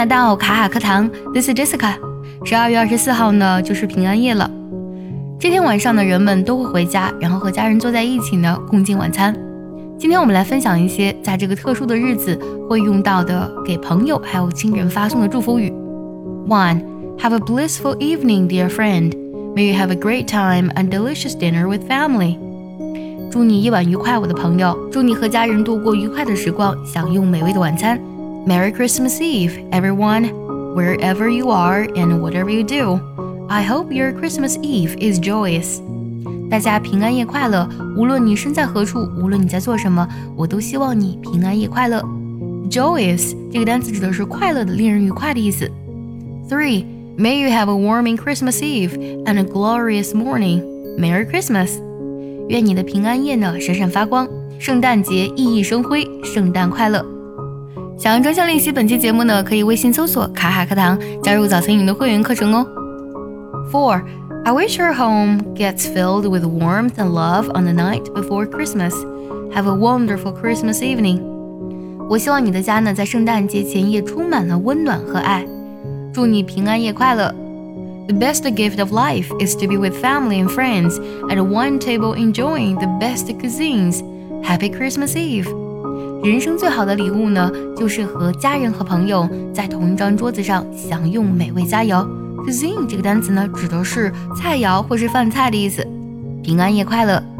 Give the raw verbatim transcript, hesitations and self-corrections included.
来到卡卡课堂 This is Jessica。 十二月二十四号呢就是平安夜了，这天晚上呢人们都会回家，然后和家人坐在一起呢共进晚餐。今天我们来分享一些在这个特殊的日子会用到的给朋友还有亲人发送的祝福语。 one. Have a blissful evening, dear friend. May you have a great time and delicious dinner with family. 祝你夜晚愉快，我的朋友，祝你和家人度过愉快的时光，享用美味的晚餐。 Merry Christmas Eve, everyone, wherever you are and whatever you do. I hope your Christmas Eve is joyous. 大家平安夜快乐，无论你身在何处，无论你在做什么，我都希望你平安夜快乐。 Joyous 这个单词指的是快乐的，令人愉快的意思。 three. May you have a warming Christmas Eve and a glorious morning. Merry Christmas. 愿你的平安夜呢闪闪发光，圣诞节熠熠生辉，圣诞快乐。想要专项练习本期节目呢，可以微信搜索卡卡课堂，加入早餐营的会员课程哦。 four. I wish your home gets filled with warmth and love on the night before Christmas. Have a wonderful Christmas evening. 我希望你的家呢在圣诞节前夜充满了温暖和爱，祝你平安夜快乐。 The best gift of life is to be with family and friends at one table enjoying the best cuisines. Happy Christmas Eve. 人生最好的礼物呢，就是和家人和朋友在同一张桌子上享用美味佳肴。 Cuisine 这个单词呢，指的是菜肴或是饭菜的意思。平安夜快乐。